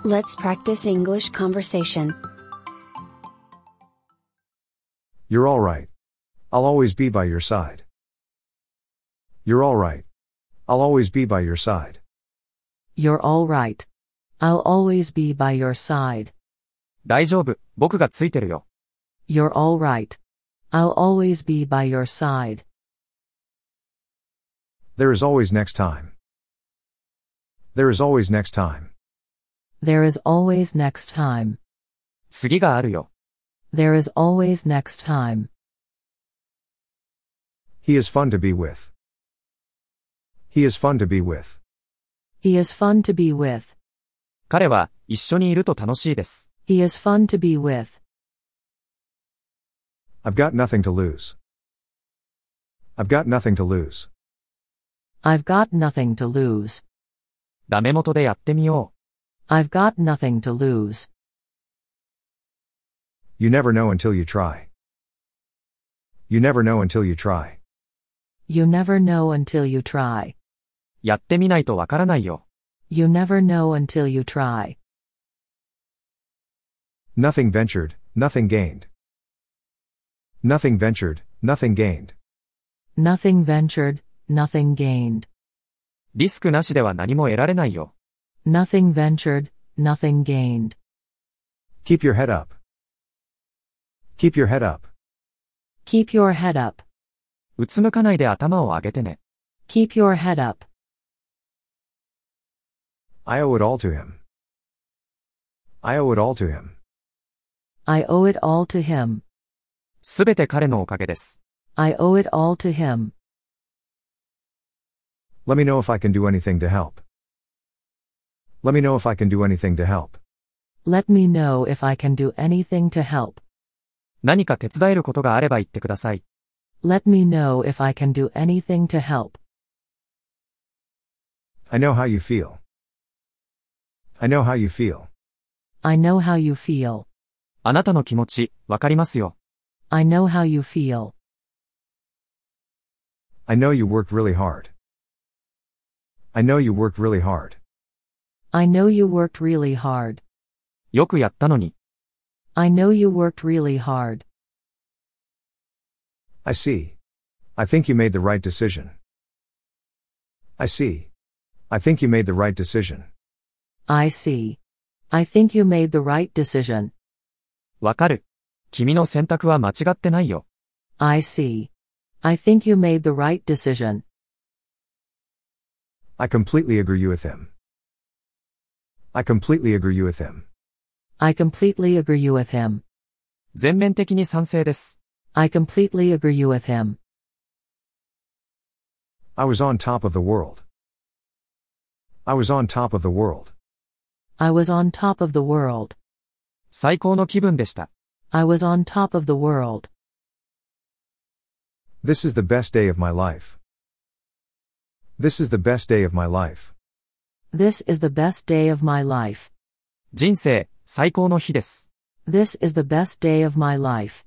Let's practice English conversation. You're all right. I'll always be by your side. You're all right. I'll always be by your side. You're all right. I'll always be by your side. 大丈夫、僕がついてるよ。 You're all right. I'll always be by your side. There is always next time. There is always next time. There is always next time. 次があるよ。 There is always next time. He is fun to be with. He is fun to be with. He is fun to be with. 彼は一緒にいると楽しいです。 He is fun to be with. I've got nothing to lose. I've got nothing to lose. I've got nothing to lose. ダメ元でやってみよ I've got nothing to lose. You never know until you try. You never know until you try. You never know until you try. う。やってみないとわからないよ。 You never know until you try. Nothing ventured, nothing gained. Nothing ventured, nothing gained. Nothing ventured, nothing gained. リスクなしでは何も得られないよ。 Nothing ventured, nothing gained. Keep your head up. Keep your head up. Keep your head up. うつむかないで頭を上げてね。 Keep your head up. I owe it all to him. I owe it all to him. I owe it all to him. すべて彼のおかげです。 I owe it all to him. Let me know if I can do anything to help. Let me know if I can do anything to help. Let me know if I can do anything to help. 何か手伝えることがあれば言ってください。 Let me know if I can do anything to help. I know how you feel. I know how you feel. I know how you feel. あなたの気持ち、わかりますよ。 I know how you feel. I know you worked really hard. I know you worked really hard. I know you worked really hard. よくやったのに。 I know you worked really hard. I see. I think you made the right decision. I see. I think you made the right decision. I see. I think you made the right decision. わかる。君の選択は間違ってないよ。 I see. I think you made the right decision. I completely agree with him. I completely agree with him. I completely agree with him. 全面的に賛成です。 I completely agree with him. I was on top of the world. I was on top of the world. I was on top of the world. 最高の気分でした。 I was on top of the world. This is the best day of my life. This is the best day of my life. This is the best day of my life. 人生、最高の日です。 This is the best day of my life.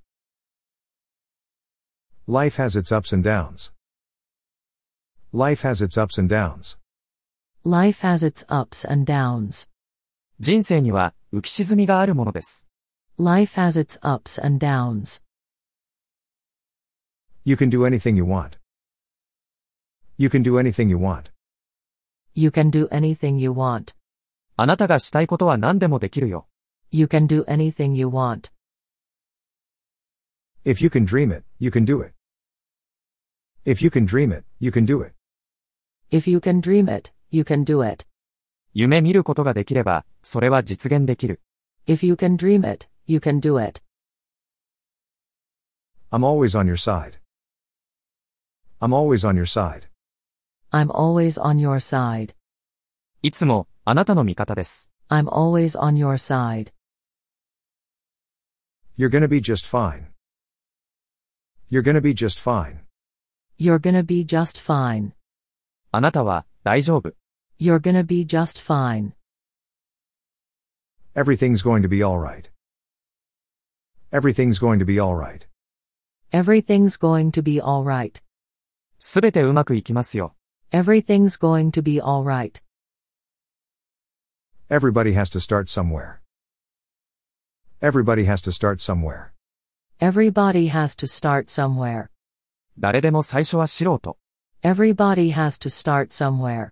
Life has its ups and downs. Life has its ups and downs. Life has its ups and downs. 人生には浮き沈みがあるものです。 Life has its ups and downs. You can do anything you want. You can do anything you want. You can do anything you want. あなたがしたいことは何でもできるよ。 You can do anything you want. If you can dream it, you can do it. If you can dream it, you can do it. If you can dream it, you can do it. 夢見ることができれば、それは実現できる。 If you can dream it, you can do it. I'm always on your side. I'm always on your side. I'm always on your side. いつも、あなたの味方です。 I'm always on your side. You're gonna be just fine. You're gonna be just fine. You're gonna be just fine. あなたは、大丈夫。 You're gonna be just fine. Everything's going to be alright. Everything's going to be alright. Everything's going to be alright. すべてうまくいきますよ。 Everything's going to be alright. Everybody has to start somewhere. Everybody has to start somewhere. Everybody has to start somewhere. 誰でも最初は素人。 Everybody has to start somewhere.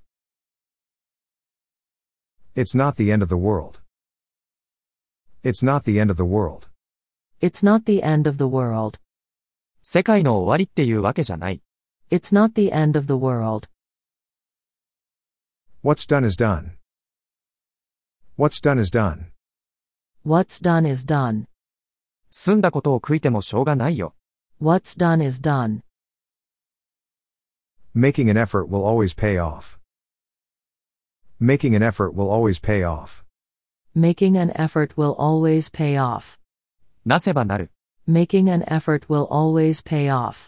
It's not the end of the world. It's not the end of the world. It's not the end of the world. 世界の終わりっていうわけじゃない。 It's not the end of the world. What's done is done. What's done is done. What's done is done. 済んだことを悔いてもしょうがないよ。 What's done is done. Making an effort will always pay off. Making an effort will always pay off. Making an effort will always pay off. なせばなる。 Making an effort will always pay off.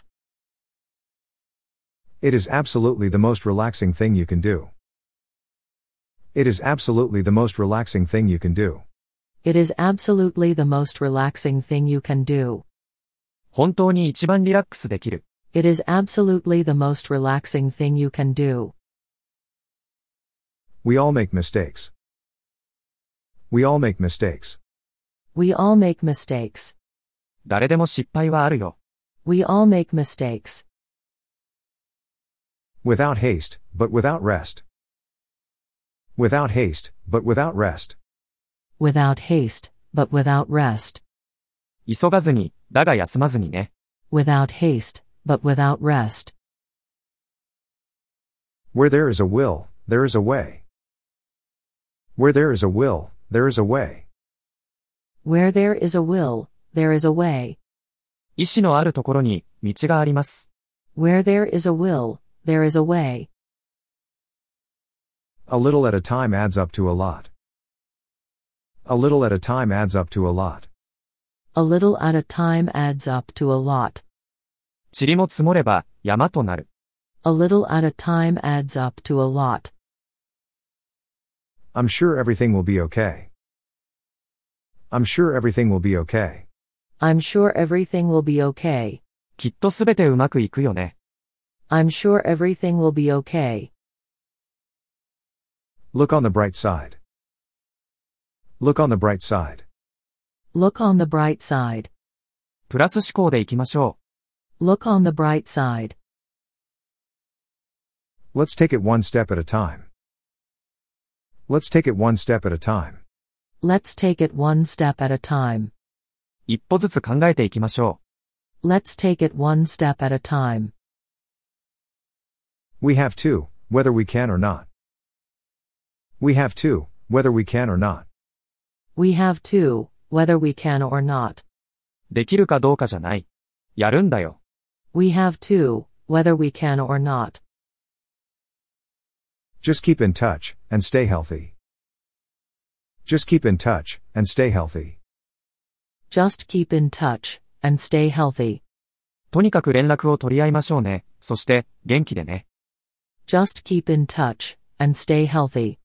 It is absolutely the most relaxing thing you can do. It is absolutely the most relaxing thing you can do. It is absolutely the most relaxing thing you can do. 本当に一番リラックスできる。 It is absolutely the most relaxing thing you can do. We all make mistakes. We all make mistakes. We all make mistakes. 誰でも失敗はあるよ。 We all make mistakes. Without haste, but without rest. Without haste, but without rest. Without haste, but without rest. 急がずに、だが休まずにね。 Without haste, but without rest. Where there is a will, there is a way. Where there is a will, there is a way. Where there is a will, there is a way. 意志のあるところに、道があります。 Where there is a will, there is a way. A little at a time adds up to a lot. A little at a time adds up to a lot. A little at a time adds up to a lot. 塵も積もれば、山となる。 A little at a time adds up to a lot. I'm sure everything will be okay. I'm sure everything will be okay. I'm sure everything will be okay. きっとすべてうまくいくよね。 I'm sure everything will be okay. Look on the bright side. Look on the bright side. Look on the bright side. プラス思考でいきましょ Look on the bright side. Let's take it one step at a time. Let's take it one step at a time. Let's take it one step at a time. う。一歩ずつ考えていきましょ Let's take it one step at a time. We have to, whether we can or not. We have to, whether we can or not. We have to, whether we can or not. う。できるかどうかじゃない。やるんだよ。 We have to, whether we can or not. Just keep in touch, and stay healthy. Just keep in touch, and stay healthy. Just keep in touch, and stay healthy. とにかく連絡を取り合いましょうね。そして、元気でね。 Just keep in touch, and stay healthy.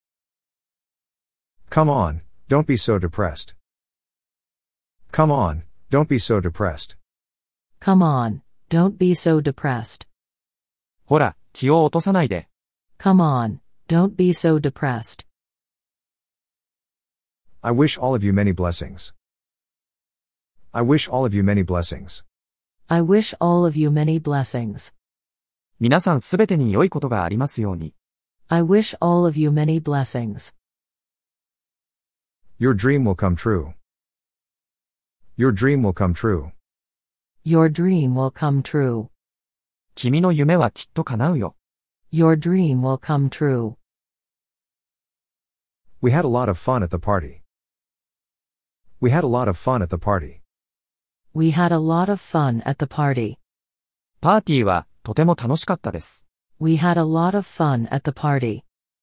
Come on, don't be so depressed. Come on, don't be so depressed. Come on, don't be so depressed. ほら、気を落とさないで。 Come on, don't be so depressed. I wish all of you many blessings. I wish all of you many blessings. I wish all of you many blessings. 皆さんすべてに良いことがありますように。 I wish all of you many blessings. Your dream will come true. Your dream will come true. Your dream will come true. 君の夢はきっと叶うよ。 Your dream will come true. We had a lot of fun at the party. We had a lot of fun at the party. We had a lot of fun at the party. パーティーはとても楽しかったです。 We had a lot of fun at the party.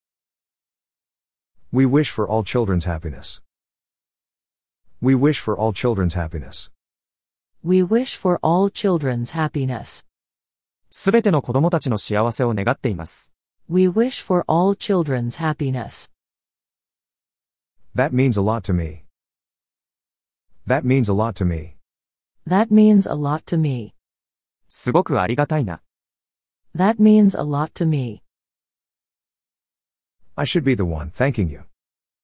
We wish for all children's happiness. We wish for all children's happiness. We wish for all children's happiness. すべての子供たちの幸せを願っています。 We wish for all children's happiness. That means a lot to me. That means a lot to me. That means a lot to me. すごくありがたいな。 That means a lot to me. I should be the one thanking you.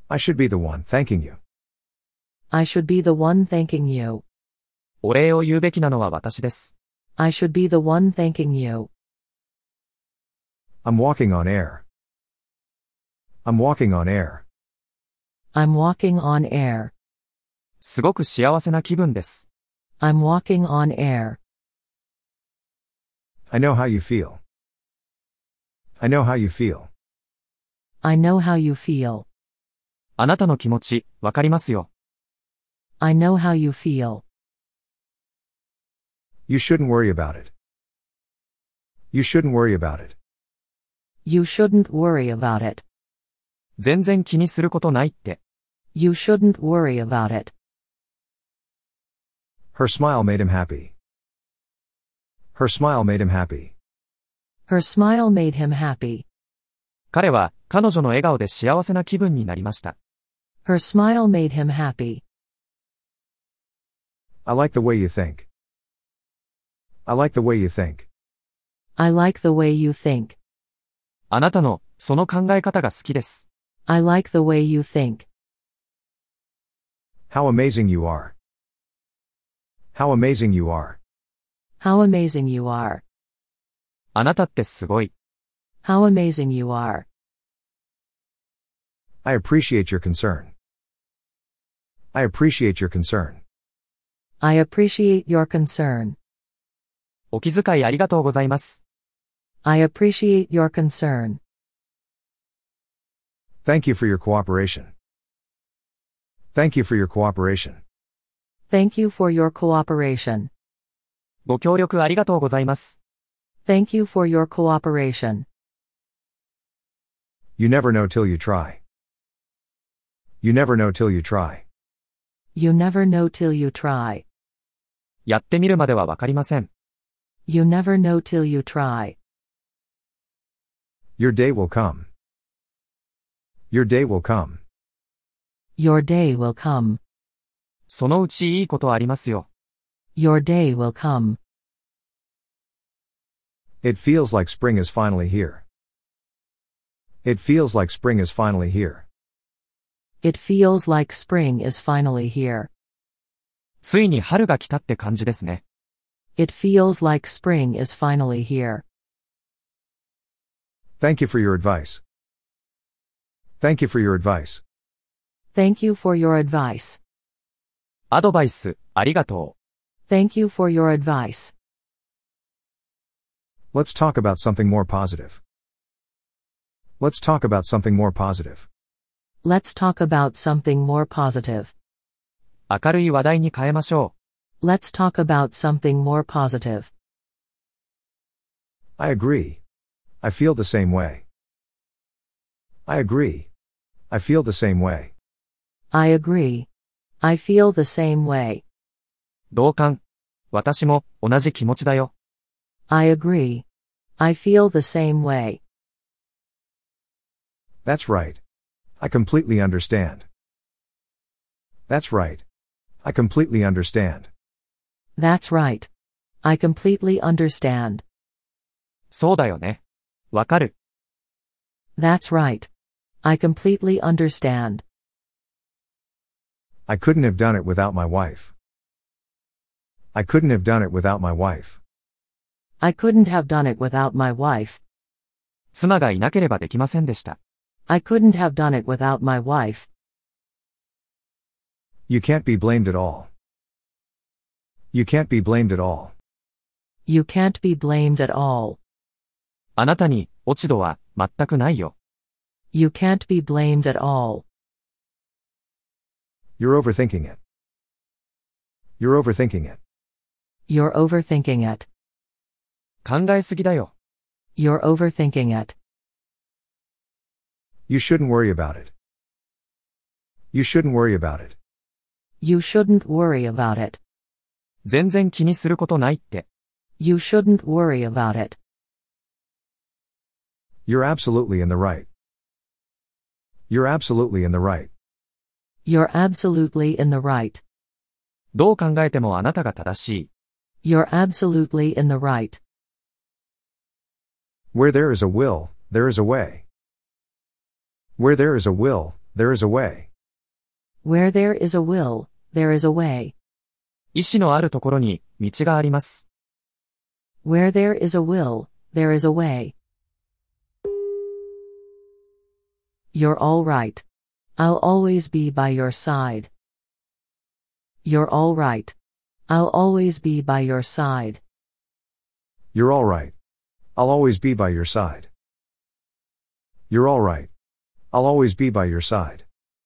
I should be the one thanking you. I should be the one thanking you. お礼を言うべきなのは私です。 I should be the one thanking you. I'm walking on air. I'm walking on air. I'm walking on air. すごく幸せな気分です。 I'm walking on air. I know how you feel. I know how you feel. I know how you feel. あなたの気持ち、わかりますよ。 I know how you feel. You shouldn't worry about it. You shouldn't worry about it. You shouldn't worry about it. 全然気にすることないって。 You shouldn't worry about it. Her smile made him happy. Her smile made him happy. Her smile made him happy. 彼は、彼女の笑顔で幸せな気分になりました。 Her smile made him happy. I like the way you think. I like the way you think. I like the way you think. あなたの、その考え方が好きです。 I like the way you think. How amazing you are. How amazing you are. How amazing you are. あなたってすごい。 How amazing you are. I appreciate your concern. I appreciate your concern. I appreciate your concern. お気遣いありがとうございます。 I appreciate your concern. Thank you for your cooperation. Thank you for your cooperation. Thank you for your cooperation. ご協力ありがとうございます。 Thank you for your cooperation. You never know till you try. You never know till you try. You never know till you try. やってみるまではわかりません。 You never know till you try. Your day will come. Your day will come. Your day will come. そのうちいいことありますよ。 Your day will come. It feels like spring is finally here. It feels like spring is finally here. It feels like spring is finally here. ついに春が来たって感じですね。 It feels like spring is finally here. Thank you for your advice. Thank you for your advice. Thank you for your advice. アドバイス、ありがとう。 Thank you for your advice. Let's talk about something more positive. Let's talk about something more positive. Let's talk about something more positive. 明るい話題に変えましょう。 Let's talk about something more positive. I agree. I feel the same way. I agree. I feel the same way. I agree. I feel the same way. 同感。私も、同じ気持ちだよ。 I agree. I feel the same way. That's right. I completely understand. That's right. I completely understand. That's right. I completely understand. そうだよね。わかる。 That's right. I completely understand. I couldn't have done it without my wife. I couldn't have done it without my wife. I couldn't have done it without my wife. 妻がいなければできませんでした。 I couldn't have done it without my wife. You can't be blamed at all. You can't be blamed at all. You can't be blamed at all. あなたに、落ち度は、全くないよ。 You can't be blamed at all. You're overthinking it. You're overthinking it. You're overthinking it. 考えすぎだよ。 You're overthinking it. You shouldn't worry about it. You shouldn't worry about it. You shouldn't worry about it. 全然気にすることないって。 You shouldn't worry about it. You're absolutely in the right. You're absolutely in the right. You're absolutely in the right. どう考えてもあなたが正しい。 You're absolutely in the right. Where there is a will, there is a way. Where there is a will, There is a way. Where there is a will, there is a way. 意志のあるところに、道があります。 Where there is a will, there is a way. You're all right. I'll always be by your side. You're all right. I'll always be by your side. You're all right. I'll always be by your side. You're all right. I'll always be by your side.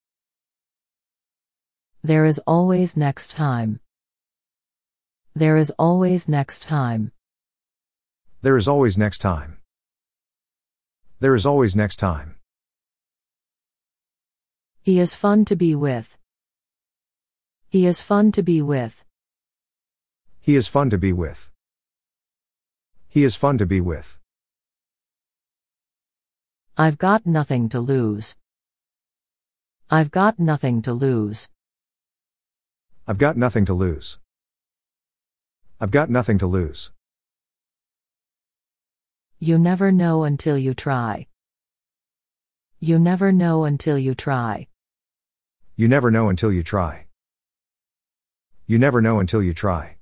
There is always next time. There is always next time. There is always next time. There is always next time. He is fun to be with. He is fun to be with. He is fun to be with. He is fun to be with. I've got nothing to lose. I've got nothing to lose. I've got nothing to lose. I've got nothing to lose. You never know until you try. You never know until you try. You never know until you try. You never know until you try.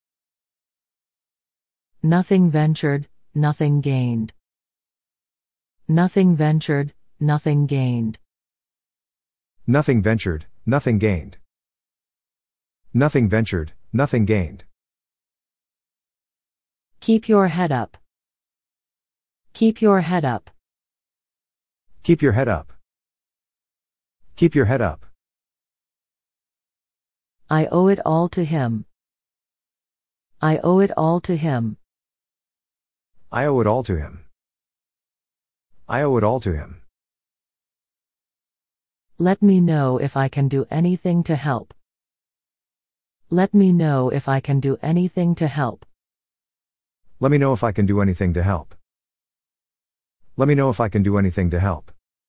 Nothing ventured, nothing gained. Nothing ventured, nothing gained. Nothing ventured, nothing gained. Nothing ventured, nothing gained. Keep your head up. Keep your head up. Keep your head up. Keep your head up. I owe it all to him. I owe it all to him. I owe it all to him. I owe it all to him. Let me know if I can do anything to help. Let me know if I can do anything to help. Let me know if I can do anything to help. Let me know if I can do anything to help.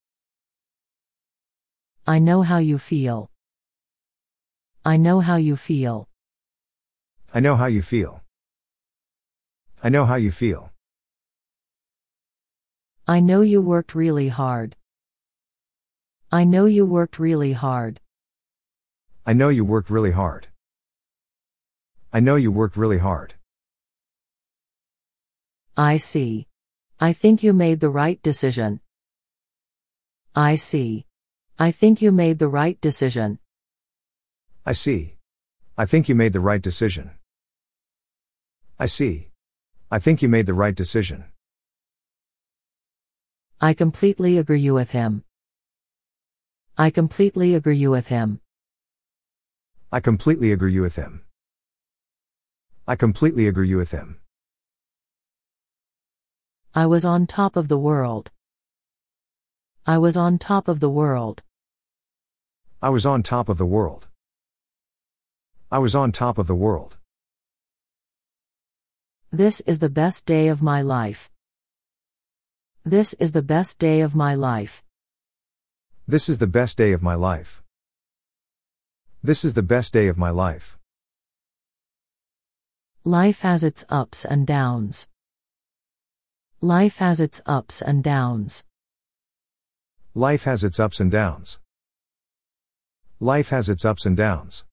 I know how you feel. I know how you feel. I know how you feel. I know how you feel. I know you worked really hard. I know you worked really hard. I know you worked really hard. I know you worked really hard. I see. I think you made the right decision. I see. I think you made the right decision. I see. I think you made the right decision. I see. I think you made the right decision. I completely agree with him. I completely agree with him. I completely agree with him. I completely agree with him. I was on top of the world. I was on top of the world. I was on top of the world. I was on top of the world. This is the best day of my life. This is the best day of my life. This is the best day of my life. This is the best day of my life. Life has its ups and downs. Life has its ups and downs. Life has its ups and downs. Life has its ups and downs.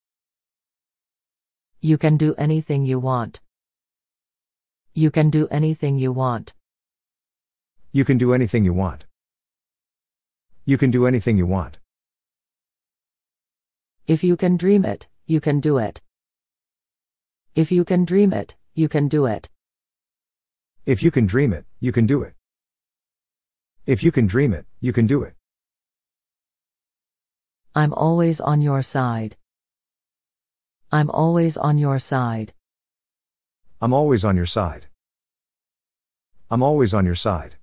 You can do anything you want. You can do anything you want. You can do anything you want. You can do anything you want. If you can dream it, you can do it. If you can dream it, you can do it. If you can dream it, you can do it. If you can dream it, you can do it. I'm always on your side. I'm always on your side. I'm always on your side. I'm always on your side.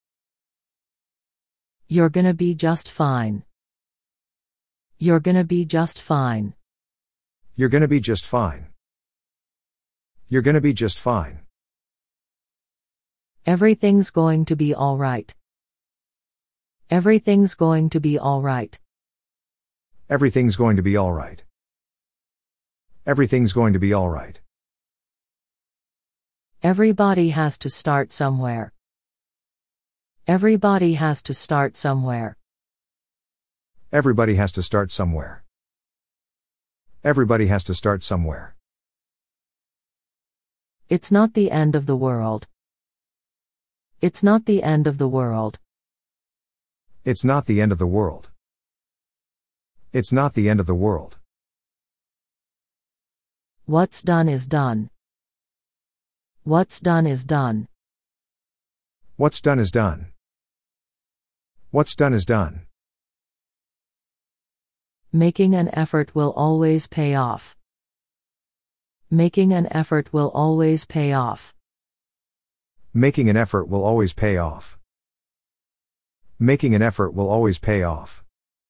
You're gonna be just fine. You're gonna be just fine. You're gonna be just fine. You're gonna be just fine. Everything's going to be all right. Everything's going to be all right. Everything's going to be all right. Everything's going to be all right. Everybody has to start somewhere. Everybody has to start somewhere. Everybody has to start somewhere. Everybody has to start somewhere. It's not the end of the world. It's not the end of the world. It's not the end of the world. It's not the end of the world. What's done is done. What's done is done. What's done is done. What's done is done. Making an effort will always pay off. Making an effort will always pay off. Making an effort will always pay off. Making an effort will always pay off.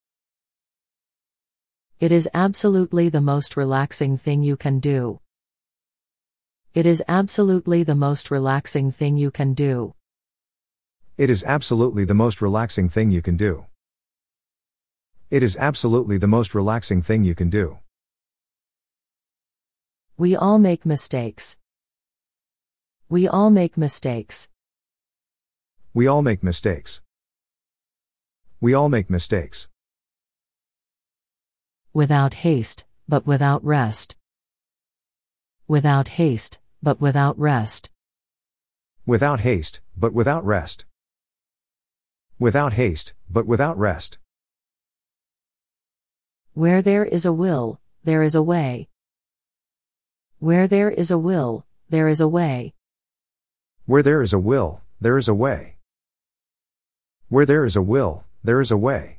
It is absolutely the most relaxing thing you can do. It is absolutely the most relaxing thing you can do. It is absolutely the most relaxing thing you can do. It is absolutely the most relaxing thing you can do. We all make mistakes. We all make mistakes. We all make mistakes. We all make mistakes. Without haste, but without rest. Without haste, but without rest. Without haste, but without rest. Without haste, but without rest. Where there is a will, there is a way. Where there is a will, there is a way. Where there is a will, there is a way. Where there is a will, there is a way.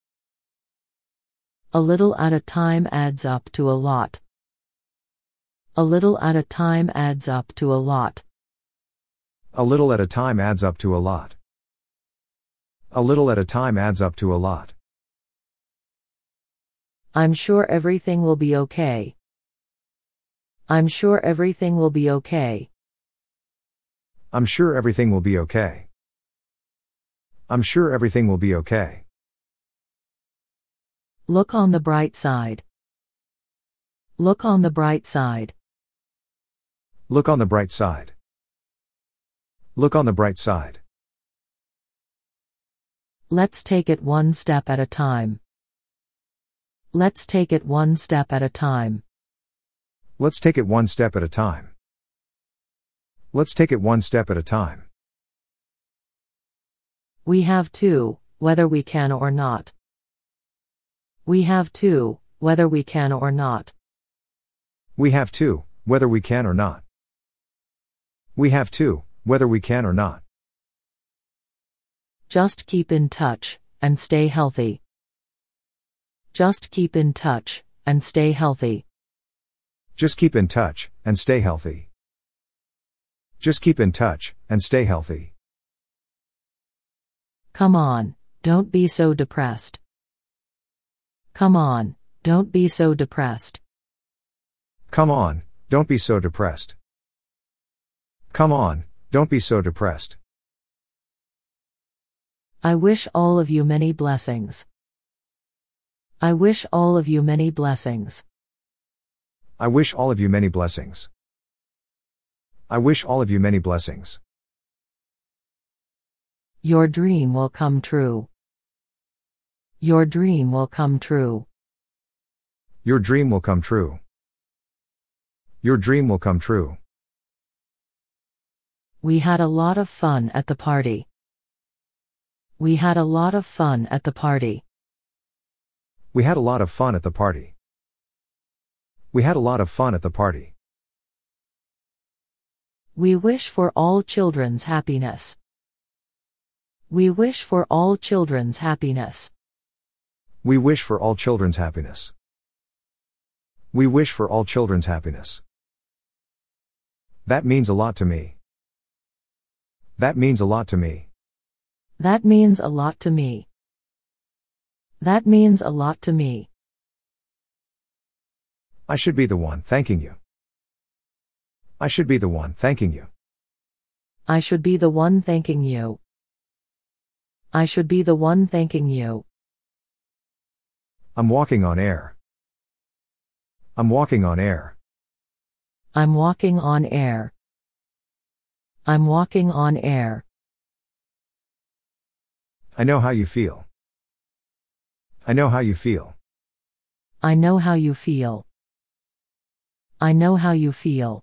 A little at a time adds up to a lot. A little at a time adds up to a lot. A little at a time adds up to a lot. A little at a time adds up to a lot. I'm sure everything will be okay. I'm sure everything will be okay. I'm sure everything will be okay. I'm sure everything will be okay. Look on the bright side. Look on the bright side. Look on the bright side. Look on the bright side. Let's take it one step at a time. Let's take it one step at a time. Let's take it one step at a time. Let's take it one step at a time. We have to, whether we can or not. We have to, whether we can or not. We have to, whether we can or not. We have to, whether we can or not. Just keep in touch, and stay healthy. Just keep in touch, and stay healthy. Just keep in touch, and stay healthy. Just keep in touch, and stay healthy. Come on, don't be so depressed. Come on, don't be so depressed. Come on, don't be so depressed. Come on, don't be so depressed. I wish all of you many blessings. I wish all of you many blessings. I wish all of you many blessings. I wish all of you many blessings. Your dream will come true. Your dream will come true. Your dream will come true. Your dream will come true. We had a lot of fun at the party. We had a lot of fun at the party. We had a lot of fun at the party. We had a lot of fun at the party. We wish for all children's happiness. We wish for all children's happiness. We wish for all children's happiness. We wish for all children's happiness. That means a lot to me. That means a lot to me. That means a lot to me. That means a lot to me. I should be the one thanking you. I should be the one thanking you. I should be the one thanking you. I should be the one thanking you. I'm walking on air. I'm walking on air. I'm walking on air. I'm walking on air. I know how you feel. I know how you feel. I know how you feel. I know how you feel.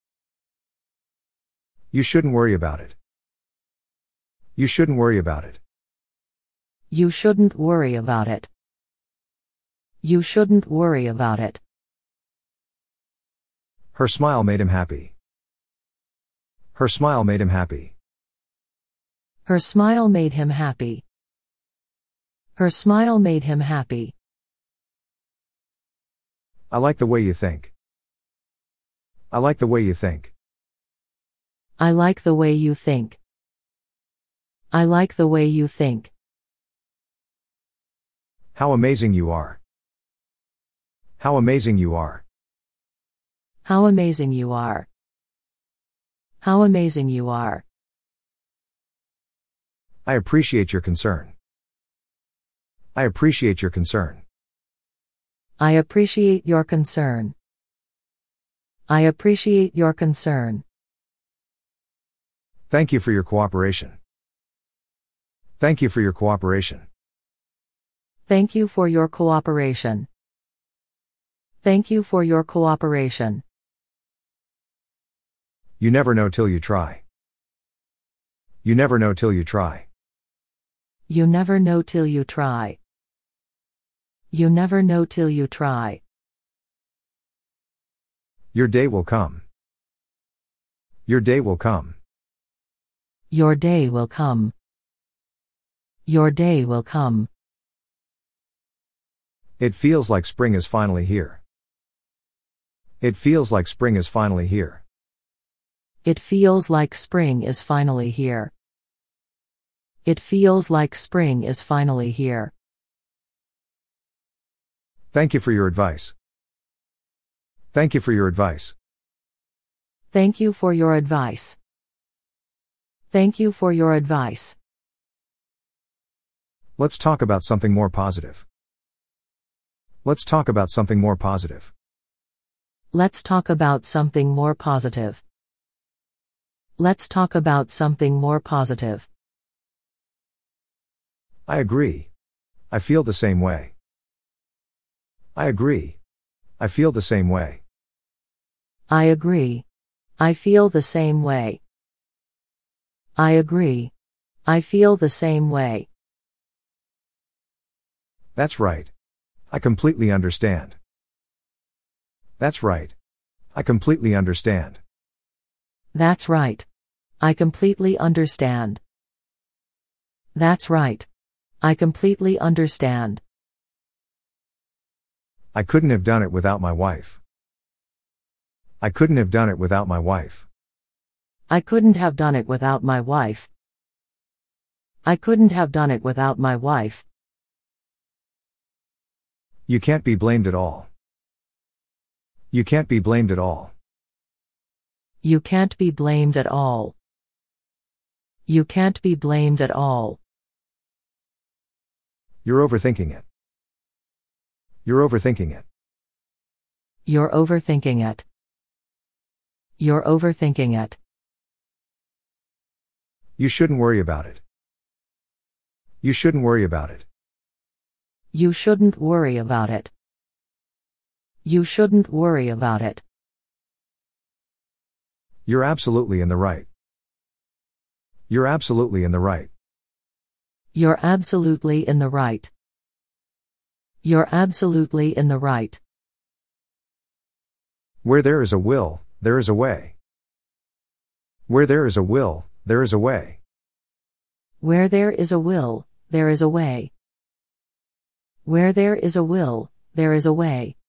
You shouldn't worry about it. You shouldn't worry about it. You shouldn't worry about it. You shouldn't worry about it. Her smile made him happy. Her smile made him happy. Her smile made him happy. Her smile made him happy. I like the way you think. I like the way you think. I like the way you think. I like the way you think. How amazing you are. How amazing you are. How amazing you are. How amazing you are. I appreciate your concern. I appreciate your concern. I appreciate your concern. I appreciate your concern. Thank you for your cooperation. Thank you for your cooperation. Thank you for your cooperation. Thank you for your cooperation. You never know till you try. You never know till you try. You never know till you try. You never know till you try. Your day will come. Your day will come. Your day will come. Your day will come. It feels like spring is finally here. It feels like spring is finally here. It feels like spring is finally here. It feels like spring is finally here. Thank you for your advice. Thank you for your advice. Thank you for your advice. Thank you for your advice. Let's talk about something more positive. Let's talk about something more positive. Let's talk about something more positive. Let's talk about something more positive. I agree. I feel the same way. I agree. I feel the same way. I agree. I feel the same way. I agree. I feel the same way. That's right. I completely understand. That's right. I completely understand. That's right. I completely understand. That's right. I completely understand. I couldn't have done it without my wife. I couldn't have done it without my wife. I couldn't have done it without my wife. I couldn't have done it without my wife. You can't be blamed at all. You can't be blamed at all. You can't be blamed at all. You can't be blamed at all. You're overthinking it. You're overthinking it. You're overthinking it. You're overthinking it. You shouldn't worry about it. You shouldn't worry about it. You shouldn't worry about it. You shouldn't worry about it. You're absolutely in the right. You're absolutely in the right. You're absolutely in the right. You're absolutely in the right. Where there is a will, there is a way. Where there is a will, there is a way. Where there is a will, there is a way. Where there is a will, there is a way.